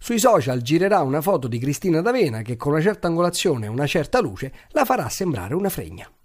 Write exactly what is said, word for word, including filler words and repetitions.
Sui social girerà una foto di Cristina D'Avena che con una certa angolazione e una certa luce la farà sembrare una fregna.